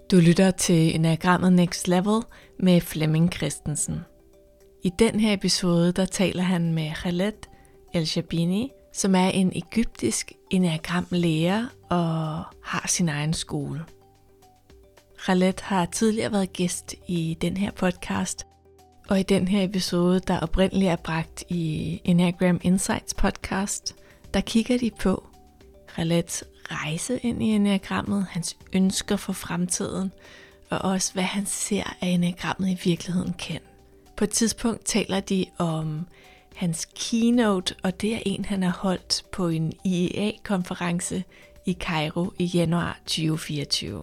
Du lytter til Enneagrammet Next Level med Flemming Christensen. I den her episode, der taler han med Khaled El-Shabini, som er en egyptisk enneagramlærer og har sin egen skole. Khaled har tidligere været gæst i den her podcast, og i den her episode, der oprindeligt er bragt i Enneagram Insights podcast, der kigger de på Khaleds rejse ind i enneagrammet, hans ønsker for fremtiden, og også hvad han ser af enneagrammet i virkeligheden kan. På et tidspunkt taler de om hans keynote, og det er en, han har holdt på en IEA-konference i Cairo i januar 2024.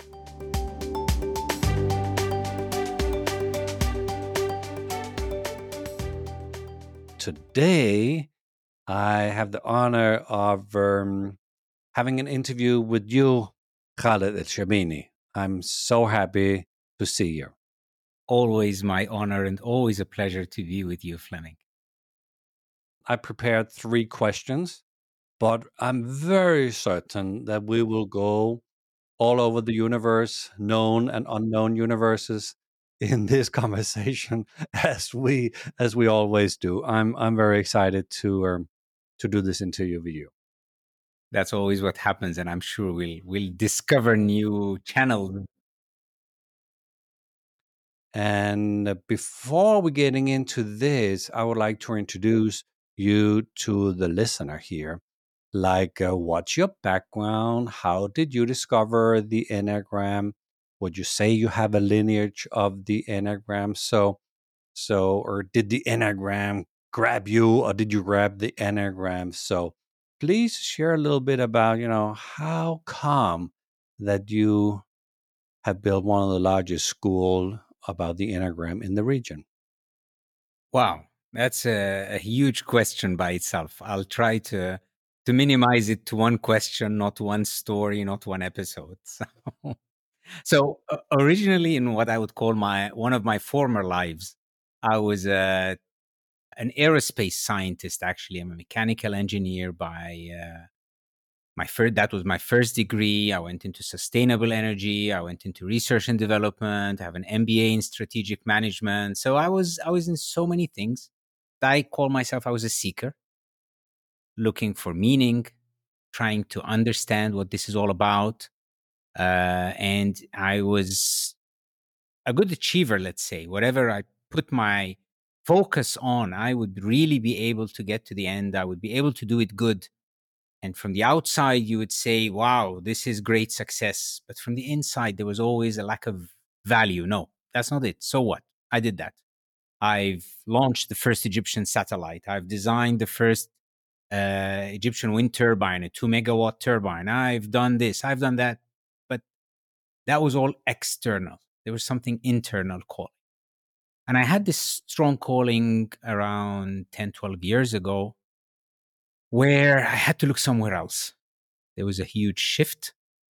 Today, I have the honor of having an interview with you, Khaled El-Shabini. I'm so happy to see you. Always my honor and always a pleasure to be with you, Flemming. I prepared 3 questions, but I'm very certain that we will go all over the universe, known and unknown universes, in this conversation as we always do. I'm very excited to do this interview with you. That's always what happens, and I'm sure we'll discover new channels. And before we getting into this, I would like to introduce you to the listener here. Like, what's your background? How did you discover the Enneagram? Would you say you have a lineage of the Enneagram? So, or did the Enneagram grab you, or did you grab the Enneagram? So, please share a little bit about, how come that you have built one of the largest schools about the Enneagram in the region. Wow, that's a huge question by itself. I'll try to minimize it to one question, not one story, not one episode. So originally, in what I would call one of my former lives, I was an aerospace scientist. Actually, I'm a mechanical engineer by that was my first degree. I went into sustainable energy. I went into research and development. I have an MBA in strategic management. So I was in so many things. I call myself, I was a seeker, looking for meaning, trying to understand what this is all about. And I was a good achiever, let's say. Whatever I put my focus on, I would really be able to get to the end. I would be able to do it good. And from the outside, you would say, wow, this is great success. But from the inside, there was always a lack of value. No, that's not it. So what? I did that. I've launched the first Egyptian satellite. I've designed the first Egyptian wind turbine, a 2 megawatt turbine. I've done this, I've done that. But that was all external. There was something internal calling. And I had this strong calling around 10, 12 years ago, where I had to look somewhere else. There was a huge shift.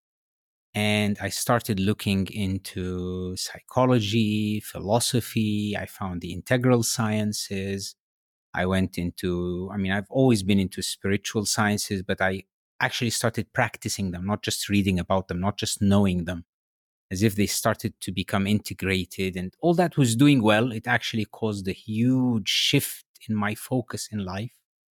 And I started looking into psychology, philosophy. I found the integral sciences. I went into, I've always been into spiritual sciences, but I actually started practicing them, not just reading about them, not just knowing them, as if they started to become integrated. And all that was doing well. It actually caused a huge shift in my focus in life.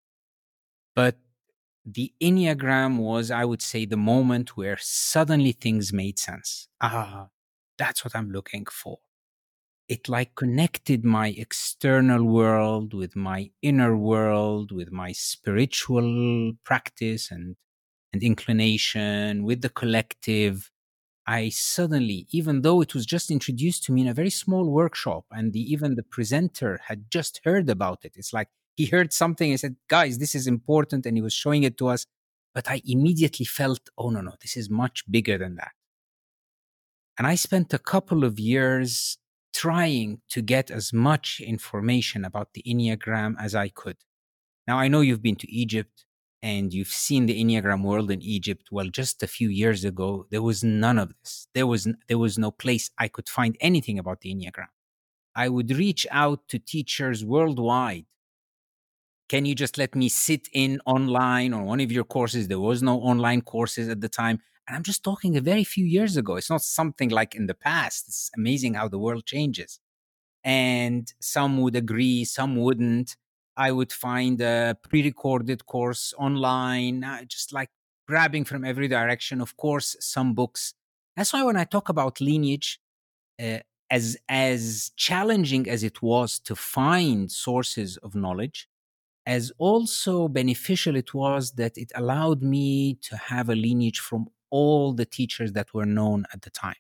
But the Enneagram was, I would say, the moment where suddenly things made sense. That's what I'm looking for. It connected my external world with my inner world, with my spiritual practice and inclination, with the collective. I suddenly, even though it was just introduced to me in a very small workshop, and even the presenter had just heard about it, it's like he heard something and said, guys, this is important, and he was showing it to us. But I immediately felt, oh, no, this is much bigger than that. And I spent a couple of years trying to get as much information about the Enneagram as I could. Now, I know you've been to Egypt and you've seen the Enneagram world in Egypt. Well, just a few years ago, there was none of this. There was no place I could find anything about the Enneagram. I would reach out to teachers worldwide. Can you just let me sit in online on one of your courses? There was no online courses at the time. And I'm just talking a very few years ago. It's not something like in the past. It's amazing how the world changes. And some would agree, some wouldn't. I would find a pre-recorded course online, just like grabbing from every direction. Of course, some books. That's why when I talk about lineage, uh, as challenging as it was to find sources of knowledge, as also beneficial it was that it allowed me to have a lineage from all the teachers that were known at the time.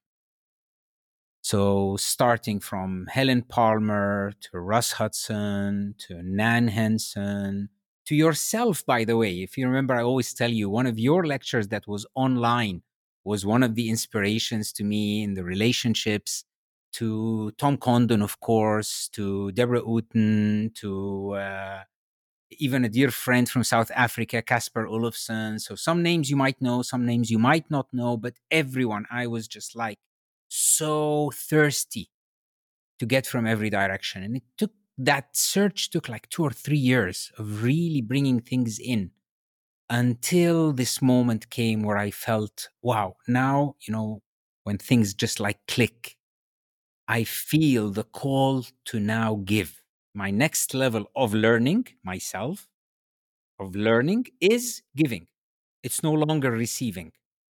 So starting from Helen Palmer to Russ Hudson to Nan Henson to yourself, by the way. If you remember, I always tell you one of your lectures that was online was one of the inspirations to me in the relationships, to Tom Condon, of course, to Deborah Uten, to even a dear friend from South Africa, Casper Olofsson. So some names you might know, some names you might not know, but everyone, I was just like so thirsty to get from every direction. And that search took like 2 or 3 years of really bringing things in until this moment came where I felt, wow, now, when things just like click, I feel the call to now give. My next level of learning myself, of learning, is giving. It's no longer receiving.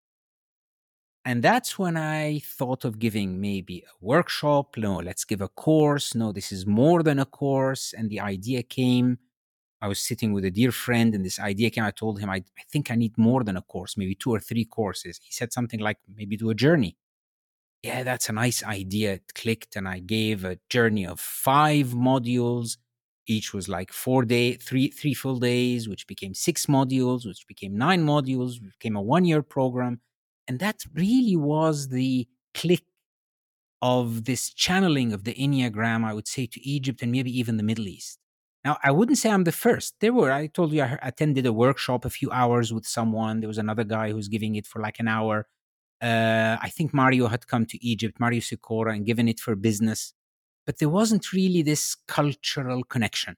And that's when I thought of giving maybe a workshop. No, let's give a course. No, this is more than a course. And the idea came. I was sitting with a dear friend and this idea came. I told him, I think I need more than a course, maybe 2 or 3 courses. He said something like, maybe do a journey. Yeah, that's a nice idea. It clicked, and I gave a journey of 5 modules. Each was like 3 full days, which became 6 modules, which became 9 modules, which became a 1-year program. And that really was the click of this channeling of the Enneagram, I would say, to Egypt and maybe even the Middle East. Now, I wouldn't say I'm the first. I told you, I attended a workshop a few hours with someone. There was another guy who was giving it for like an hour. I think Mario had come to Egypt, Mario Sikora, and given it for business. But there wasn't really this cultural connection.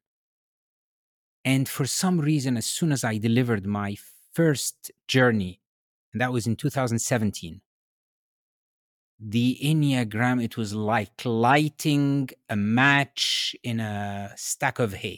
And for some reason, as soon as I delivered my first journey, and that was in 2017, the Enneagram, it was like lighting a match in a stack of hay.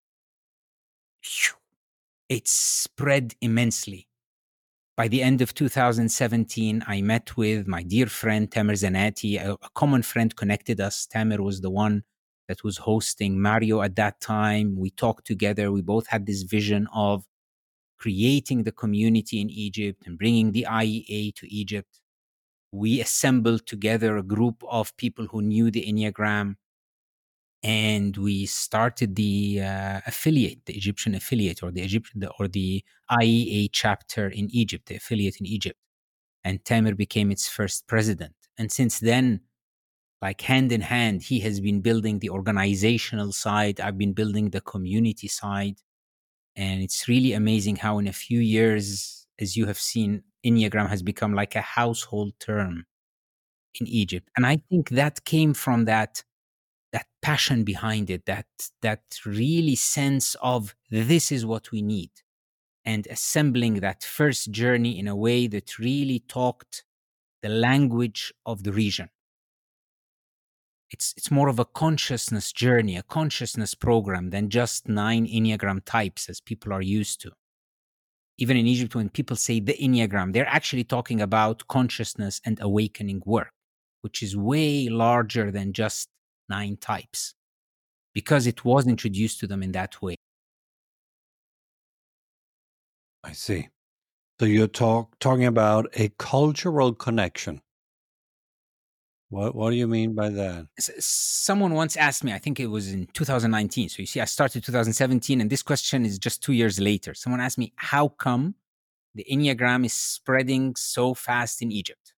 It spread immensely. By the end of 2017, I met with my dear friend Tamer Zanati. A common friend connected us. Tamer was the one that was hosting Mario at that time. We talked together. We both had this vision of creating the community in Egypt and bringing the IEA to Egypt. We assembled together a group of people who knew the Enneagram, and we started the affiliate, the Egyptian affiliate, or the IEA chapter in Egypt, the affiliate in Egypt. And Tamer became its first president. And since then, like hand in hand, he has been building the organizational side. I've been building the community side. And it's really amazing how in a few years, as you have seen, Enneagram has become like a household term in Egypt. And I think that came from that passion behind it, that really sense of this is what we need, and assembling that first journey in a way that really talked the language of the region. It's more of a consciousness journey, a consciousness program than just 9 Enneagram types as people are used to. Even in Egypt, when people say the Enneagram, they're actually talking about consciousness and awakening work, which is way larger than just 9 types, because it was introduced to them in that way. I see. So you're talking about a cultural connection. What do you mean by that? Someone once asked me, I think it was in 2019. So you see, I started 2017, and this question is just 2 years later. Someone asked me, how come the Enneagram is spreading so fast in Egypt?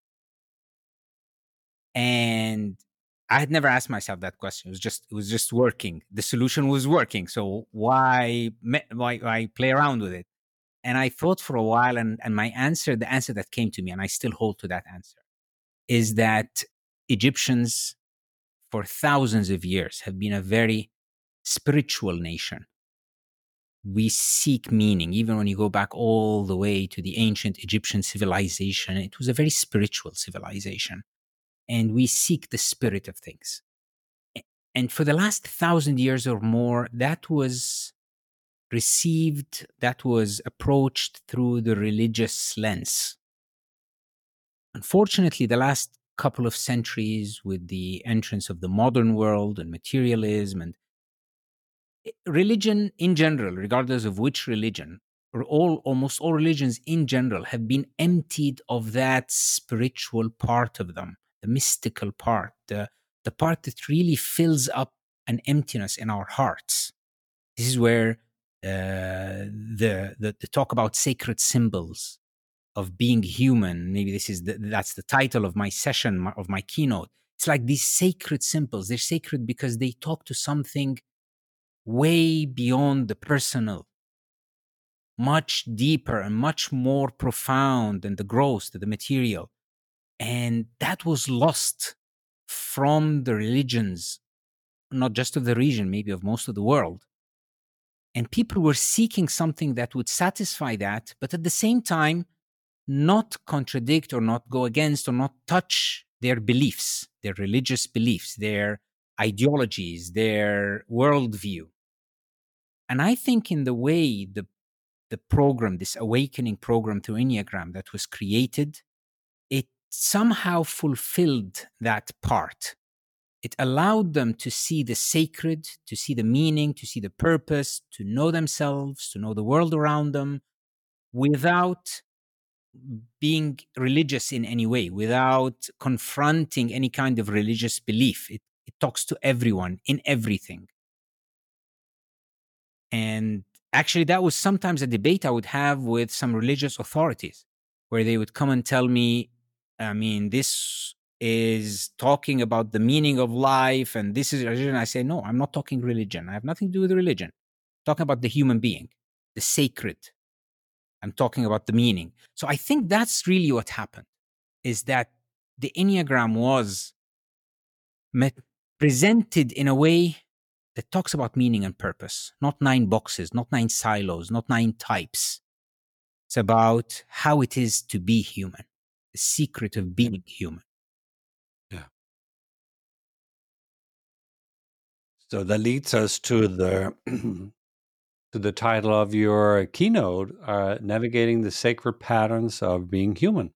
And I had never asked myself that question. It was just working. The solution was working. So why play around with it? And I thought for a while, and the answer that came to me, and I still hold to that answer, is that Egyptians for thousands of years have been a very spiritual nation. we seek meaning. Even when you go back all the way to the ancient Egyptian civilization, it was a very spiritual civilization. And we seek the spirit of things. And for the last 1,000 years or more, that was received, that was approached through the religious lens. Unfortunately, the last couple of centuries, with the entrance of the modern world and materialism and religion in general, regardless of which religion, or almost all religions in general, have been emptied of that spiritual part of them, the mystical part, the part that really fills up an emptiness in our hearts. This is where the talk about sacred symbols of being human, maybe that's the title of my session, of my keynote. It's like these sacred symbols. They're sacred because they talk to something way beyond the personal, much deeper and much more profound than the gross, than the material. And that was lost from the religions, not just of the region, maybe of most of the world. And people were seeking something that would satisfy that, but at the same time, not contradict or not go against or not touch their beliefs, their religious beliefs, their ideologies, their worldview. And I think in the way the program, this awakening program through Enneagram that was created, it somehow fulfilled that part. It allowed them to see the sacred, to see the meaning, to see the purpose, to know themselves, to know the world around them, without being religious in any way, without confronting any kind of religious belief. It talks to everyone in everything. And actually, that was sometimes a debate I would have with some religious authorities, where they would come and tell me, I mean, this is talking about the meaning of life, and this is religion. I say, no, I'm not talking religion. I have nothing to do with religion. I'm talking about the human being, the sacred. I'm talking about the meaning. So I think that's really what happened, is that the Enneagram was presented in a way that talks about meaning and purpose, not 9 boxes, not 9 silos, not 9 types. It's about how it is to be human, the secret of being human. Yeah. So that leads us to the to the title of your keynote, Navigating the Sacred Patterns of Being Human.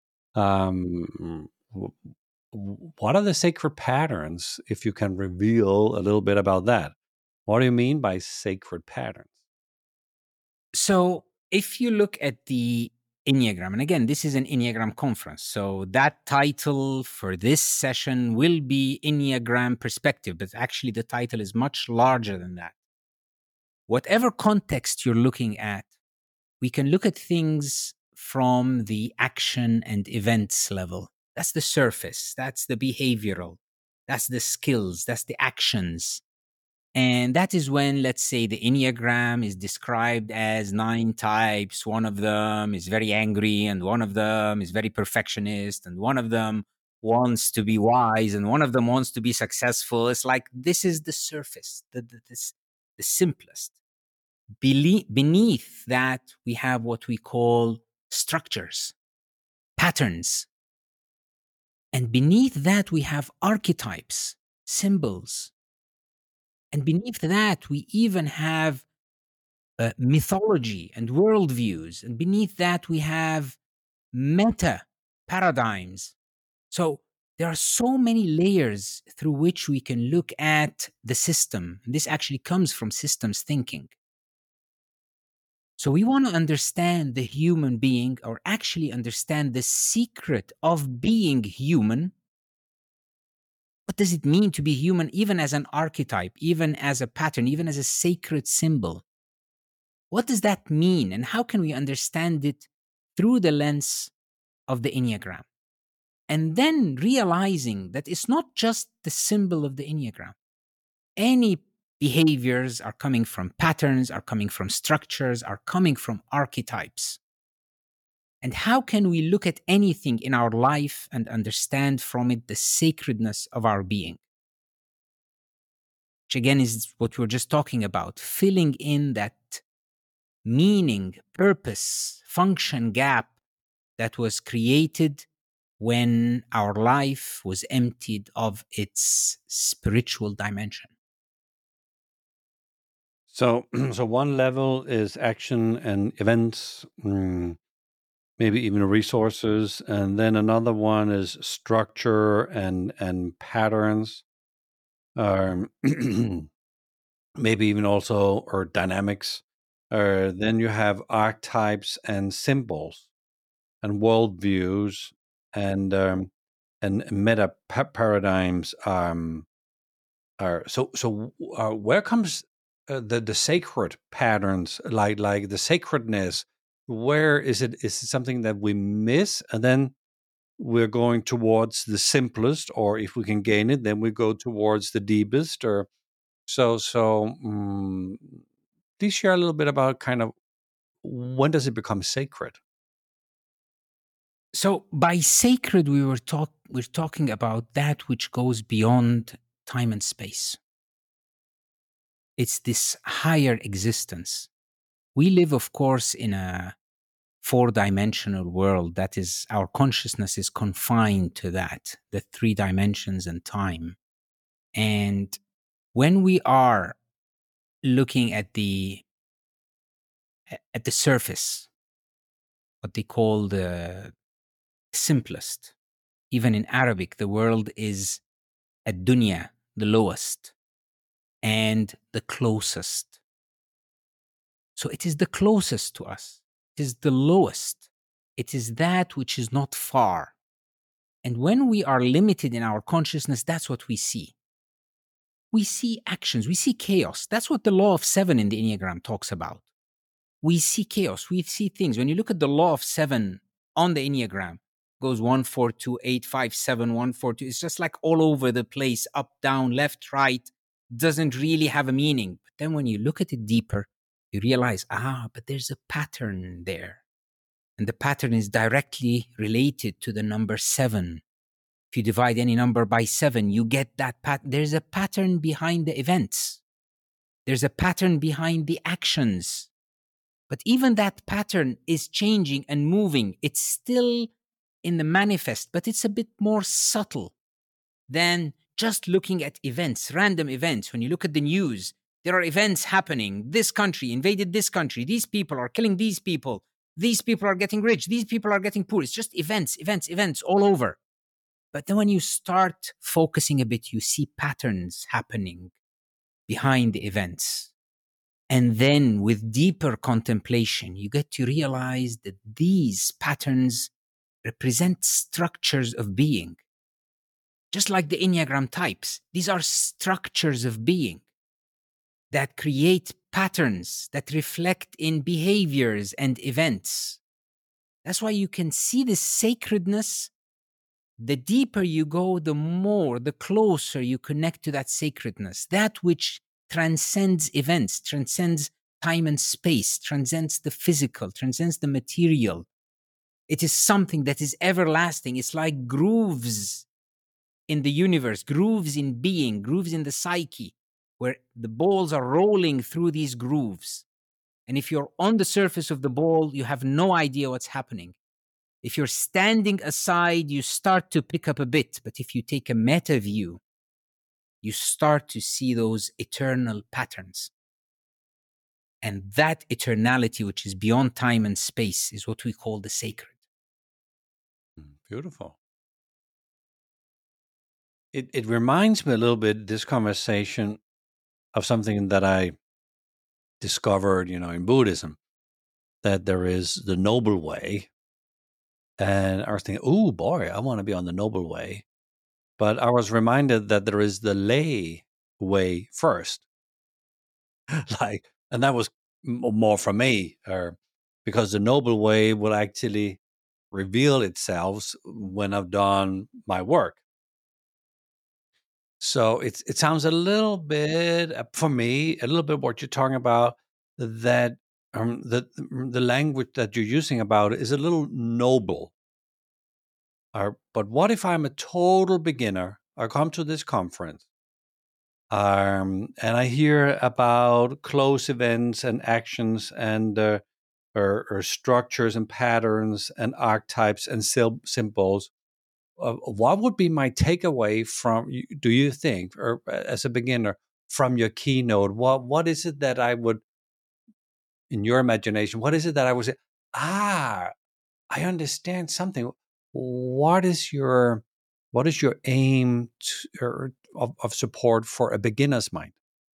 What are the sacred patterns, if you can reveal a little bit about that? What do you mean by sacred patterns? So if you look at the Enneagram, and again, this is an Enneagram conference, so that title for this session will be Enneagram Perspective, but actually the title is much larger than that. Whatever context you're looking at, we can look at things from the action and events level. That's the surface, that's the behavioral, that's the skills, that's the actions. And that is when, let's say, the Enneagram is described as 9 types. One of them is very angry, and one of them is very perfectionist, and one of them wants to be wise, and one of them wants to be successful. It's like, this is the surface, the simplest. Beneath that, we have what we call structures, patterns. And beneath that, we have archetypes, symbols. And beneath that, we even have mythology and worldviews. And beneath that, we have meta paradigms. So there are so many layers through which we can look at the system. And this actually comes from systems thinking. So we want to understand the human being, or actually understand the secret of being human. What does it mean to be human, even as an archetype, even as a pattern, even as a sacred symbol? What does that mean, and how can we understand it through the lens of the Enneagram? And then realizing that it's not just the symbol of the Enneagram. Any behaviors are coming from patterns, are coming from structures, are coming from archetypes. And how can we look at anything in our life and understand from it the sacredness of our being? Which again is what we were just talking about, filling in that meaning, purpose, function gap that was created when our life was emptied of its spiritual dimension. So, so one level is action and events, maybe even resources, and then another one is structure and patterns, maybe even also or dynamics. Then you have archetypes and symbols and worldviews and meta paradigms. Where comes the sacred patterns, like the sacredness? Where is it? Is it something that we miss, and then we're going towards the simplest, or if we can gain it, then we go towards the deepest? Or please share a little bit about kind of when does it become sacred? So by sacred, we're talking about that which goes beyond time and space. It's this higher existence. We live, of course, in a 4-dimensional world. That is, our consciousness is confined to that, the 3 dimensions and time. And when we are looking at the surface, what they call the simplest, even in Arabic, the world is ad-dunya, the lowest, and the closest. So it is the closest to us. It is the lowest. It is that which is not far. And when we are limited in our consciousness, that's what we see. We see actions, we see chaos. That's what the law of 7 in the Enneagram talks about. We see chaos, we see things. When you look at the law of 7 on the Enneagram, goes 1, 4, 2, 8, 5, 7, 1, 4, 2. It's just like all over the place, up, down, left, right, doesn't really have a meaning. But then when you look at it deeper, you realize, but there's a pattern there. And the pattern is directly related to the number 7. If you divide any number by 7, you get that pattern. There's a pattern behind the events. There's a pattern behind the actions. But even that pattern is changing and moving. It's still in the manifest, but it's a bit more subtle than just looking at events, random events. When you look at the news, there are events happening. This country invaded this country. These people are killing these people. These people are getting rich. These people are getting poor. It's just events all over. But then when you start focusing a bit, you see patterns happening behind the events. And then with deeper contemplation, you get to realize that these patterns represent structures of being. Just like the Enneagram types, these are structures of being that create patterns that reflect in behaviors and events. That's why you can see the sacredness. The deeper you go, the closer you connect to that sacredness, that which transcends events, transcends time and space, transcends the physical, transcends the material. It is something that is everlasting. It's like grooves in the universe, grooves in being, grooves in the psyche, where the balls are rolling through these grooves. And if you're on the surface of the ball, you have no idea what's happening. If you're standing aside, you start to pick up a bit. But if you take a meta view, you start to see those eternal patterns. And that eternality, which is beyond time and space, is what we call the sacred. Beautiful. It reminds me a little bit, this conversation, of something that I discovered, in Buddhism, that there is the noble way. And I was thinking, oh boy, I want to be on the noble way. But I was reminded that there is the lay way first. And that was more for me, because the noble way will actually reveal itself when I've done my work. So it sounds a little bit, for me, a little bit what you're talking about, that the language that you're using about it is a little noble. But what if I'm a total beginner? I come to this conference And I hear about close events and actions and or structures and patterns and archetypes and symbols. What would be my takeaway from, do you think, or as a beginner, from your keynote? What is it that I would, in your imagination, what is it that I would say, I understand something. What is your aim of support for a beginner's mind?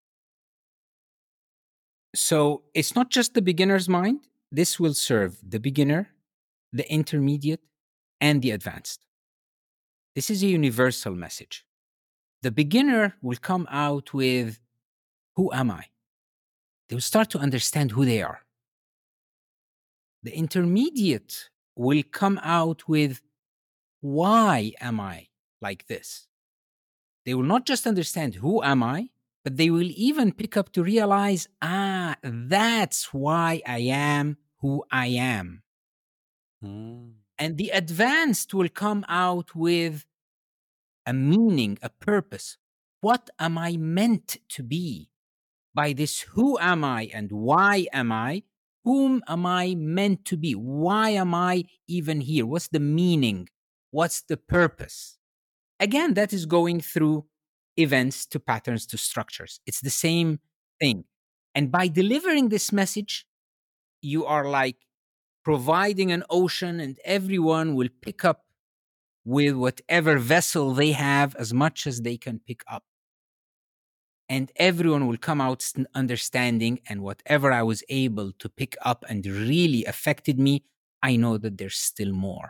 So it's not just the beginner's mind. This will serve the beginner, the intermediate, and the advanced. This is a universal message. The beginner will come out with, who am I? They will start to understand who they are. The intermediate will come out with, why am I like this? They will not just understand who am I, but they will even pick up to realize, that's why I am who I am. And the advanced will come out with a meaning, a purpose. What am I meant to be? By this, who am I and why am I? Whom am I meant to be? Why am I even here? What's the meaning? What's the purpose? Again, that is going through events to patterns to structures. It's the same thing. And by delivering this message, you are like providing an ocean, and everyone will pick up with whatever vessel they have as much as they can pick up. And everyone will come out understanding, and whatever I was able to pick up and really affected me, I know that there's still more.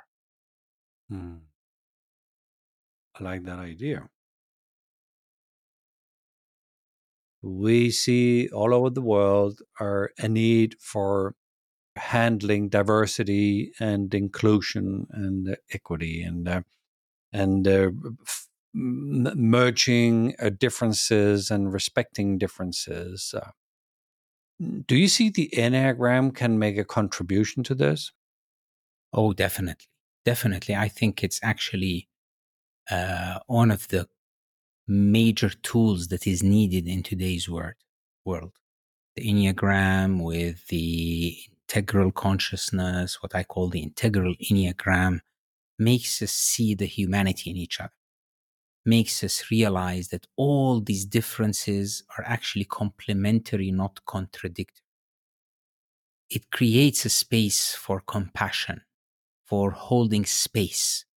I like that idea. We see all over the world a need for handling diversity and inclusion and equity and merging differences and respecting differences. Do you see the Enneagram can make a contribution to this? Oh, definitely. Definitely. I think it's actually one of the major tools that is needed in today's world. The Enneagram with the integral consciousness, what I call the integral Enneagram, makes us see the humanity in each other, makes us realize that all these differences are actually complementary, not contradictory. It creates a space for compassion, for holding space,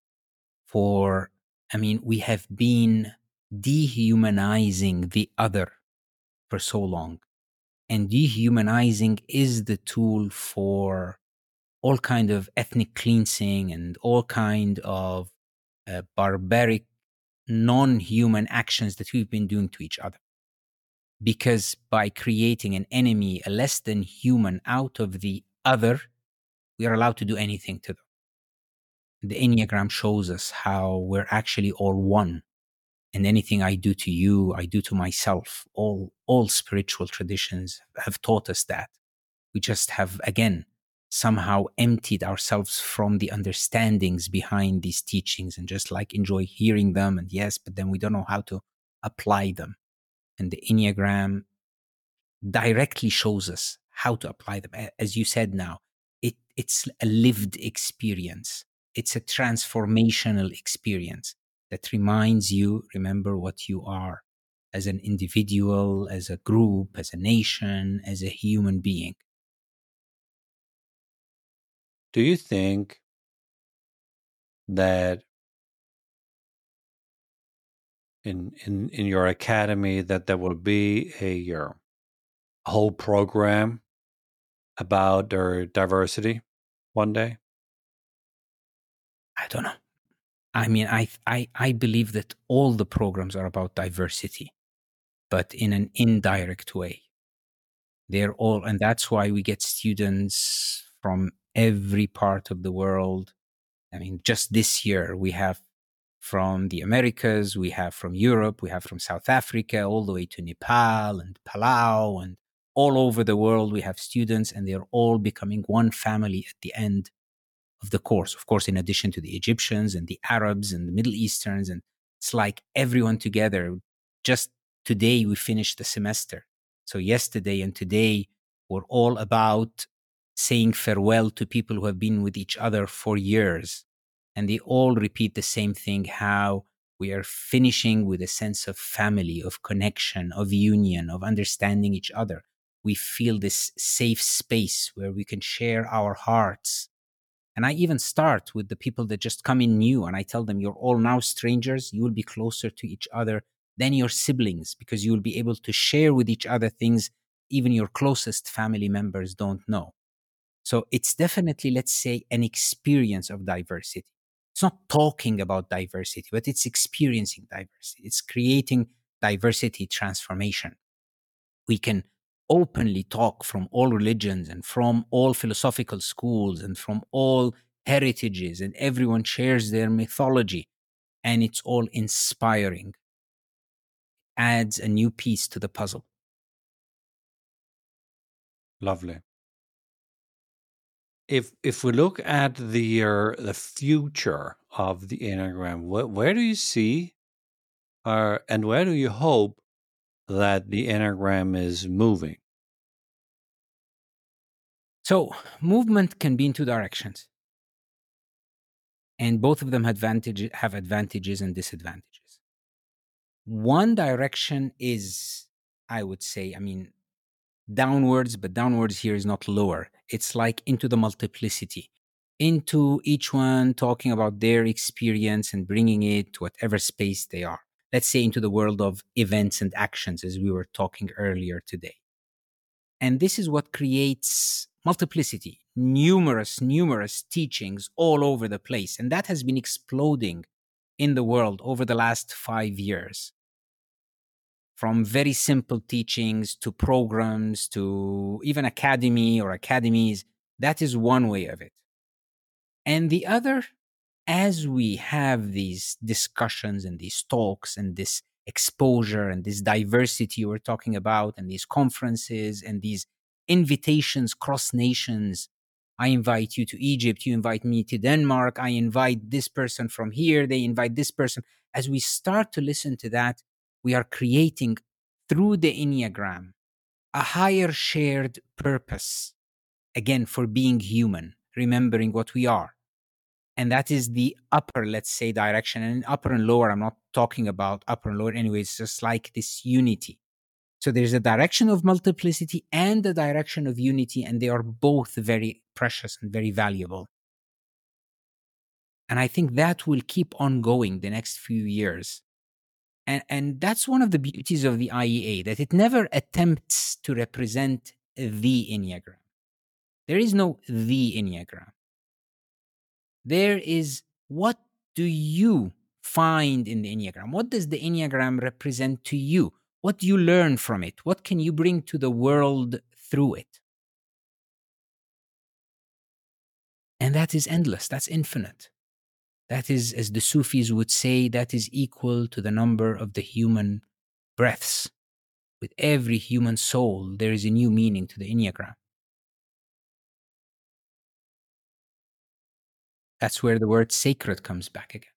we have been dehumanizing the other for so long. And dehumanizing is the tool for all kind of ethnic cleansing and all kind of barbaric, non-human actions that we've been doing to each other. Because by creating an enemy, a less than human out of the other, we are allowed to do anything to them. The Enneagram shows us how we're actually all one. And anything I do to you, I do to myself. All spiritual traditions have taught us that. We just have, again, somehow emptied ourselves from the understandings behind these teachings and just like enjoy hearing them. And yes, but then we don't know how to apply them. And the Enneagram directly shows us how to apply them. As you said now, it's a lived experience. It's a transformational experience that reminds you, remember what you are as an individual, as a group, as a nation, as a human being. Do you think that in your academy that there will be a whole program about their diversity one day? I don't know. I believe that all the programs are about diversity, but in an indirect way. They're all, and that's why we get students from every part of the world. Just this year, we have from the Americas, we have from Europe, we have from South Africa, all the way to Nepal and Palau, and all over the world, we have students, and they're all becoming one family at the end of the course. Of course, in addition to the Egyptians and the Arabs and the Middle Easterns, and it's like everyone together, just today we finished the semester. So yesterday and today were all about saying farewell to people who have been with each other for years. And they all repeat the same thing, how we are finishing with a sense of family, of connection, of union, of understanding each other. We feel this safe space where we can share our hearts. And I even start with the people that just come in new, and I tell them, you're all now strangers. You will be closer to each other than your siblings, because you will be able to share with each other things even your closest family members don't know. So it's definitely, let's say, an experience of diversity. It's not talking about diversity, but it's experiencing diversity. It's creating diversity transformation. We can openly talk from all religions and from all philosophical schools and from all heritages, and everyone shares their mythology, and it's all inspiring. Adds a new piece to the puzzle. Lovely. If we look at the future of the Enneagram, where do you see, and where do you hope that the Enneagram is moving? So movement can be in two directions, and both of them have advantages and disadvantages. One direction is, I would say, downwards, but downwards here is not lower. It's like into the multiplicity, into each one talking about their experience and bringing it to whatever space they are. Let's say into the world of events and actions, as we were talking earlier today. And this is what creates multiplicity, numerous teachings all over the place. And that has been exploding in the world over the last 5 years. From very simple teachings to programs to even academy or academies. That is one way of it. And the other, as we have these discussions and these talks and this exposure and this diversity we're talking about, and these conferences and these invitations cross nations, I invite you to Egypt, you invite me to Denmark, I invite this person from here, they invite this person. As we start to listen to that, we are creating through the Enneagram a higher shared purpose, again, for being human, remembering what we are. And that is the upper, let's say, direction. And upper and lower, I'm not talking about upper and lower anyway, it's just like this unity. So there's a direction of multiplicity and a direction of unity, and they are both very precious and very valuable. And I think that will keep on going the next few years. And that's one of the beauties of the IEA, that it never attempts to represent the Enneagram. There is no the Enneagram. There is, what do you find in the Enneagram? What does the Enneagram represent to you? What do you learn from it? What can you bring to the world through it? And that is endless. That's infinite. That is, as the Sufis would say, that is equal to the number of the human breaths. With every human soul, there is a new meaning to the Enneagram. That's where the word sacred comes back again.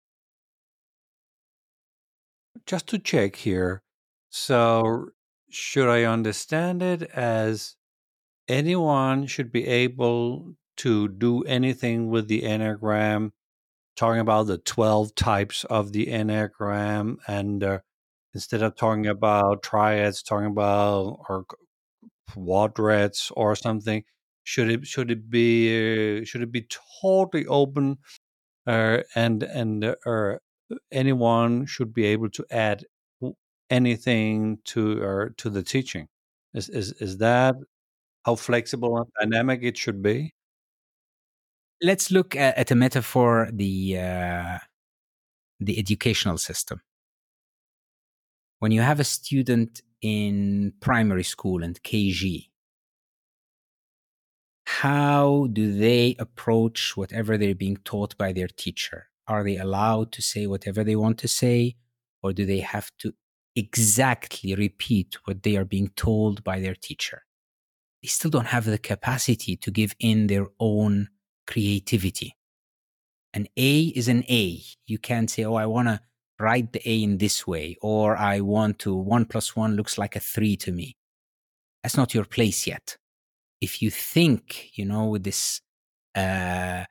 Just to check here, so should I understand it as anyone should be able to do anything with the Enneagram, talking about the 12 types of the Enneagram, and instead of talking about triads, talking about or quadrats or something, should it be totally open, and anyone should be able to add anything to the teaching? Is that how flexible and dynamic it should be? Let's look at a metaphor, the educational system. When you have a student in primary school and KG, how do they approach whatever they're being taught by their teacher? Are they allowed to say whatever they want to say, or do they have to exactly repeat what they are being told by their teacher? They still don't have the capacity to give in their own creativity. An A is an A. You can't say, oh, I want to write the A in this way, or I want to 1 + 1 looks like a 3 to me. That's not your place yet. If you think, with this a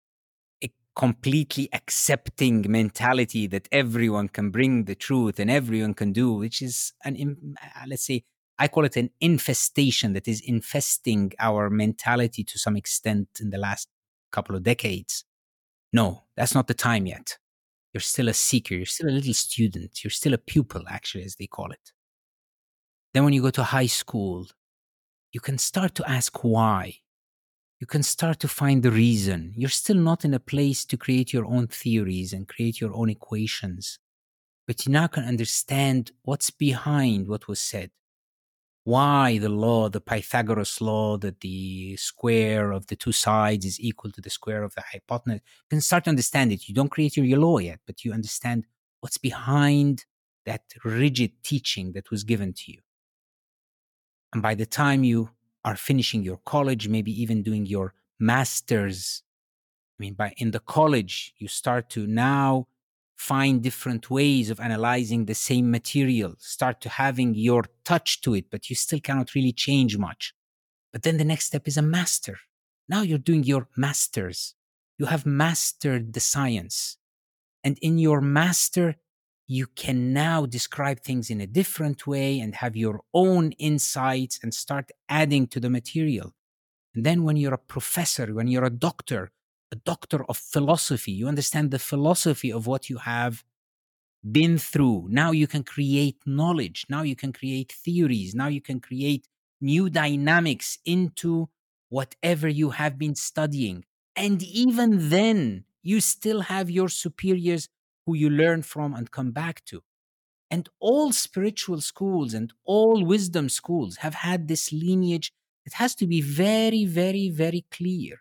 completely accepting mentality that everyone can bring the truth and everyone can do, which is let's say, I call it an infestation that is infesting our mentality to some extent in the last couple of decades. No, that's not the time yet. You're still a seeker. You're still a little student. You're still a pupil, actually, as they call it. Then when you go to high school, you can start to ask why. You can start to find the reason. You're still not in a place to create your own theories and create your own equations, but you now can understand what's behind what was said. Why the law, the Pythagoras law, that the square of the two sides is equal to the square of the hypotenuse. You can start to understand it. You don't create your law yet, but you understand what's behind that rigid teaching that was given to you. And by the time you are finishing your college, maybe even doing your master's, in the college, you start to now find different ways of analyzing the same material, start to having your touch to it, but you still cannot really change much. But then the next step is a master. Now you're doing your master's. You have mastered the science. And in your master, you can now describe things in a different way and have your own insights and start adding to the material. And then when you're a professor, when you're a doctor of philosophy, you understand the philosophy of what you have been through. Now you can create knowledge. Now you can create theories. Now you can create new dynamics into whatever you have been studying. And even then, you still have your superiors who you learn from and come back to. And all spiritual schools and all wisdom schools have had this lineage. It has to be very, very, very clear.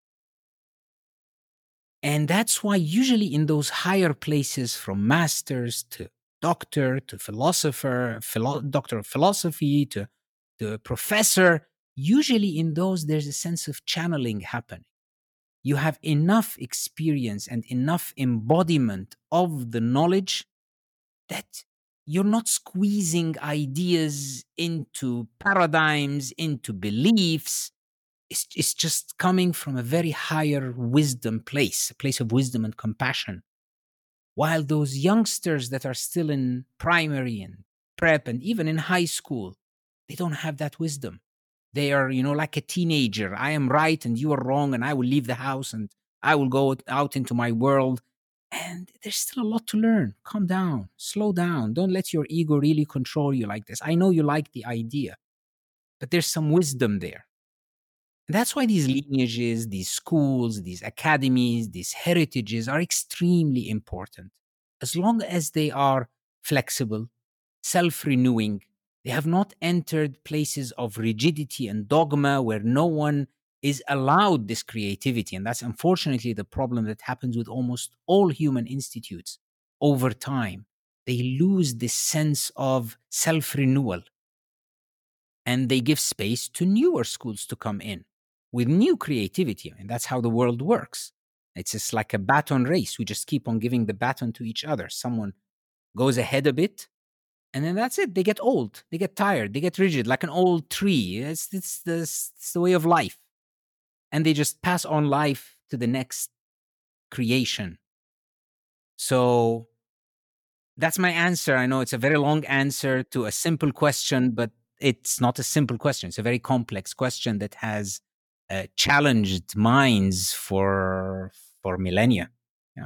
And that's why usually in those higher places, from masters to doctor to philosopher, doctor of philosophy to professor, usually in those there's a sense of channeling happening. You have enough experience and enough embodiment of the knowledge that you're not squeezing ideas into paradigms, into beliefs. It's just coming from a very higher wisdom place, a place of wisdom and compassion. While those youngsters that are still in primary and prep and even in high school, they don't have that wisdom. They are, like a teenager. I am right and you are wrong, and I will leave the house and I will go out into my world. And there's still a lot to learn. Calm down, slow down. Don't let your ego really control you like this. I know you like the idea, but there's some wisdom there. And that's why these lineages, these schools, these academies, these heritages are extremely important. As long as they are flexible, self-renewing, they have not entered places of rigidity and dogma where no one is allowed this creativity. And that's unfortunately the problem that happens with almost all human institutes over time. They lose this sense of self-renewal, and they give space to newer schools to come in with new creativity. And that's how the world works. It's just like a baton race. We just keep on giving the baton to each other. Someone goes ahead a bit, and then that's it. They get old. They get tired. They get rigid, like an old tree. It's the way of life. And they just pass on life to the next creation. So that's my answer. I know it's a very long answer to a simple question, but it's not a simple question. It's a very complex question that has challenged minds for millennia. Yeah,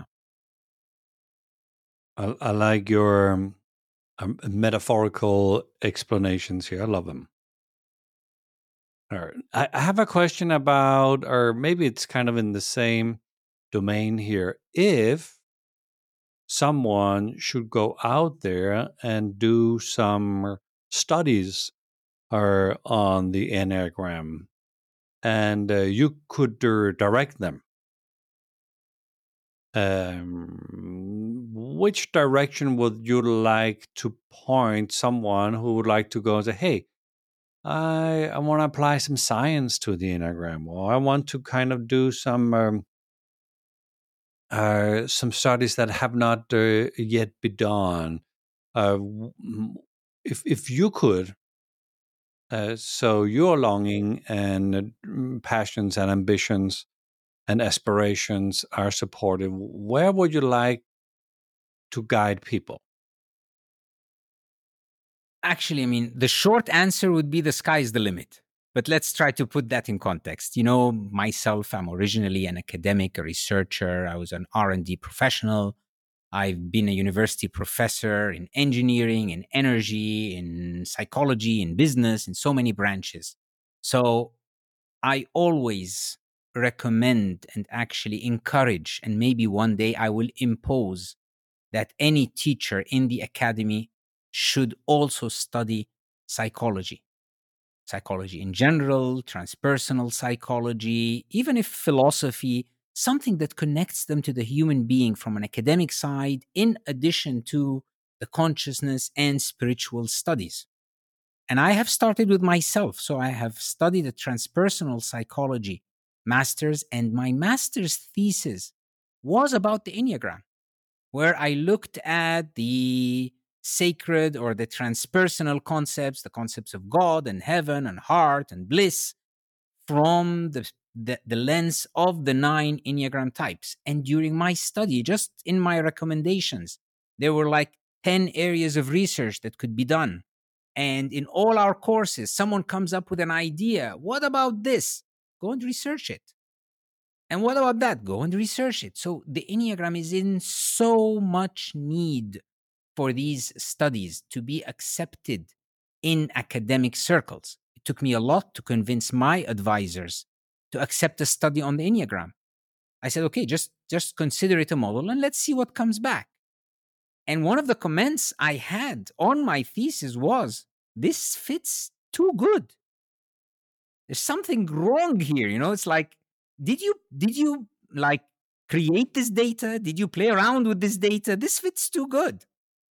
I like your metaphorical explanations here. I love them. All right. I have a question about, or maybe it's kind of in the same domain here. If someone should go out there and do some studies on the Enneagram, and you could direct them, which direction would you like to point someone who would like to go and say, hey, I want to apply some science to the Enneagram, or I want to kind of do some some studies that have not yet been done. If you could, so your longing and passions and ambitions and aspirations are supported, where would you like to guide people? Actually, I mean, the short answer would be the sky is the limit. But let's try to put that in context. You know, myself, I'm originally an academic, a researcher. I was an R&D professional. I've been a university professor in engineering, in energy, in psychology, in business, in so many branches. So I always recommend and actually encourage, and maybe one day I will impose that any teacher in the academy should also study psychology. Psychology in general, transpersonal psychology, even if philosophy, something that connects them to the human being from an academic side, in addition to the consciousness and spiritual studies. And I have started with myself. So I have studied a transpersonal psychology master's, and my master's thesis was about the Enneagram, where I looked at the sacred or the transpersonal concepts, the concepts of God and heaven and heart and bliss from the lens of the 9 Enneagram types. And during my study, just in my recommendations, there were like 10 areas of research that could be done. And in all our courses, someone comes up with an idea. What about this? Go and research it. And what about that? Go and research it. So the Enneagram is in so much need for these studies to be accepted in academic circles. It took me a lot to convince my advisors to accept a study on the Enneagram. I said, okay, just consider it a model and let's see what comes back. And one of the comments I had on my thesis was, this fits too good. There's something wrong here. You know, it's like, did you like create this data? Did you play around with this data? This fits too good.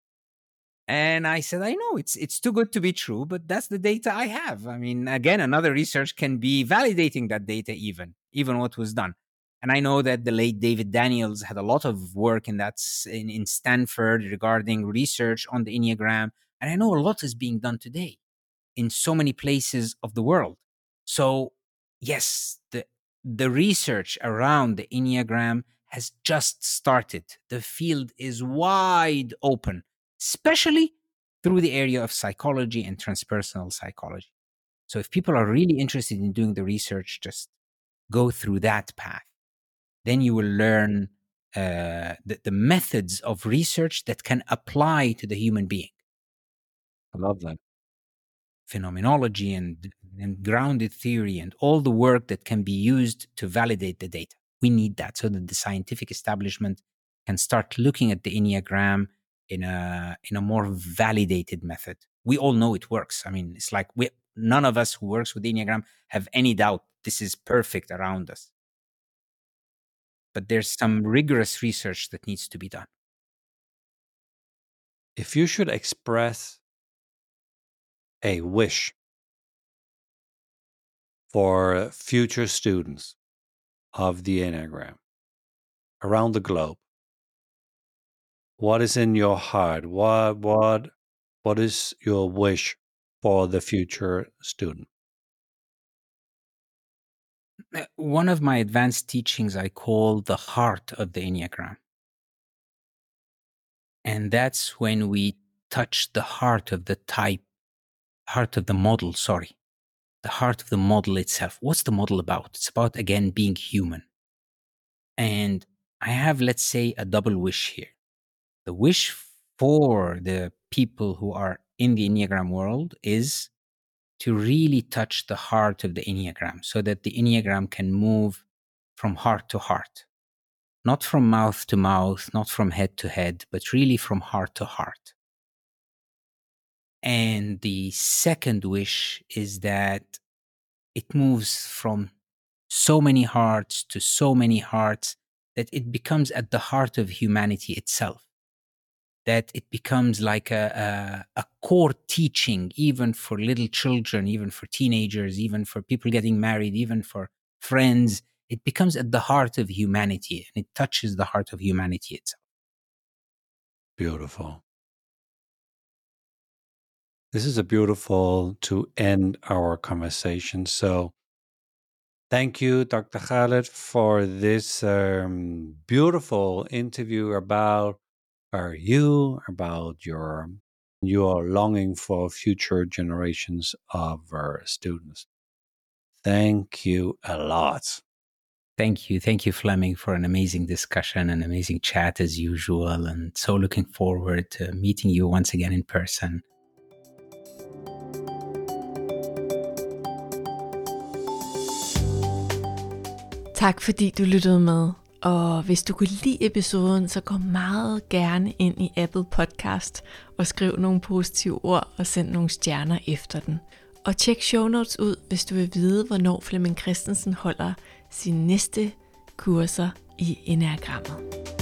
And I said, I know it's too good to be true, but that's the data I have. I mean, again, another research can be validating that data, even what was done. And I know that the late David Daniels had a lot of work in Stanford regarding research on the Enneagram. And I know a lot is being done today in so many places of the world. So yes, the research around the Enneagram has just started. The field is wide open, especially through the area of psychology and transpersonal psychology. So if people are really interested in doing the research, just go through that path. Then you will learn the methods of research that can apply to the human being. I love that. Phenomenology and grounded theory and all the work that can be used to validate the data. We need that so that the scientific establishment can start looking at the Enneagram in a more validated method. We all know it works. I mean, it's like none of us who works with the Enneagram have any doubt this is perfect around us. But there's some rigorous research that needs to be done. If you should express a wish for future students of the Enneagram around the globe, what is in your heart? What is your wish for the future student? One of my advanced teachings I call the heart of the Enneagram. And that's when we touch the heart of the model, the heart of the model itself. What's the model about? It's about, again, being human. And I have, let's say, a double wish here. The wish for the people who are in the Enneagram world is to really touch the heart of the Enneagram so that the Enneagram can move from heart to heart, not from mouth to mouth, not from head to head, but really from heart to heart. And the second wish is that it moves from so many hearts to so many hearts that it becomes at the heart of humanity itself. That it becomes like a core teaching, even for little children, even for teenagers, even for people getting married, even for friends, it becomes at the heart of humanity, and it touches the heart of humanity itself. Beautiful. This is a beautiful to end our conversation. So thank you, Dr. Khaled, for this beautiful interview about you, about your longing for future generations of students. Thank you a lot. Thank you, Fleming, for an amazing discussion, an amazing chat as usual, and so looking forward to meeting you once again in person. Tak fordi du lyttede med, og hvis du kunne lide episoden, så gå meget gerne ind i Apple Podcast og skriv nogle positive ord og send nogle stjerner efter den. Og tjek show notes ud, hvis du vil vide, hvornår Flemming Christensen holder sine næste kurser i Enneagrammet.